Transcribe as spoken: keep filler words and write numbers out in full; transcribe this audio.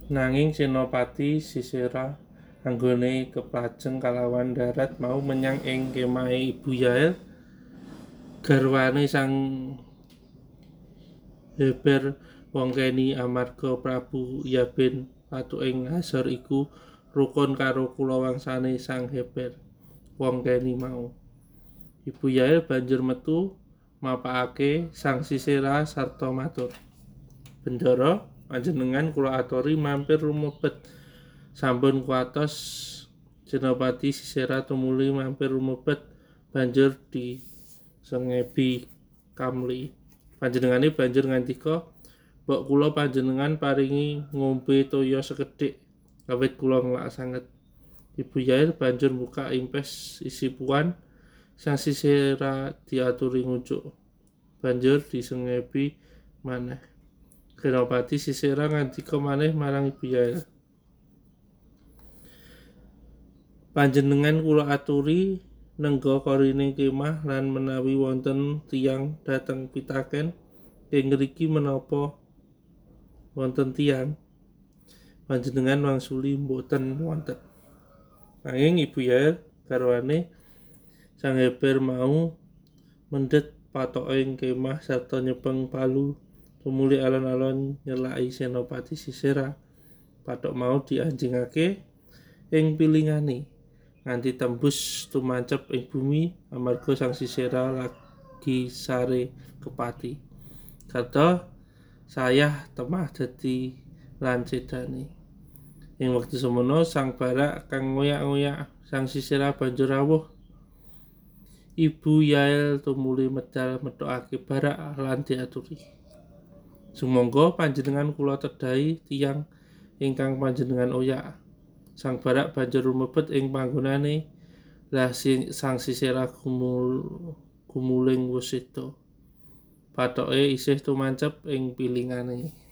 Nanging Senopati Sisera anggone keplajeng kalawan darat mau menyang ing kemahe Ibu Yael garwane sang Heber wong Keni amarga Prabu Yaben patuking Hazor iku rukun karo kulawangsane sang Heber wong Keni mau. Ibu Yael banjur metu mapakake sang Sisera sarta matur, "Bendara, panjenengan kula aturi mampir rumebet sampun kuwatos." Senopati Sisera tumuli mampir rumebet banjur disengebi Kamli. Panjenengane banjur ngandika, "Mbok kula panjenengan paringi ngombe toya sekedhik, awit kula nglak sanget." Ibu Yael banjur mbukak impes isi puan, sang Sisera diaturi ngucuk, banjur disengebi maneh. Senopati Sisera ngandika maneh marang Ibu Yael, "Panjenengan kula aturi nengga korine kemah lan menawi wonten tiyang dhateng pitaken ing ngriki menapa wonten tiyang, panjenengan wangsuli mboten wonten." Nanging Ibu Yael garwane sang Heber mau mendhet patoking kemah sarta nyepeng palu tumuli alon-alon nyelaki Senopati Sisera. Pathok mau dianjingake ing pilingane nganti tembus tumancep ing bumi amarga sang Sisera lagi sare kepati. Sarta sayah temah dadi lan sedane. Ing wektu semono sang Barak kang ngoyak-ngoyak sang Sisera banjur rawuh. Ibu Yael tumuli medal metokake Barak lan diaturi, "Sumangga panjenengan kula tedhahi tiyang ingkang panjenengan oyak." Sang Barak banjur rumebet ing panggonane. Lah sang Sisera gumul gumuling wus seda. Pathoke isih tumancep ing pilingane.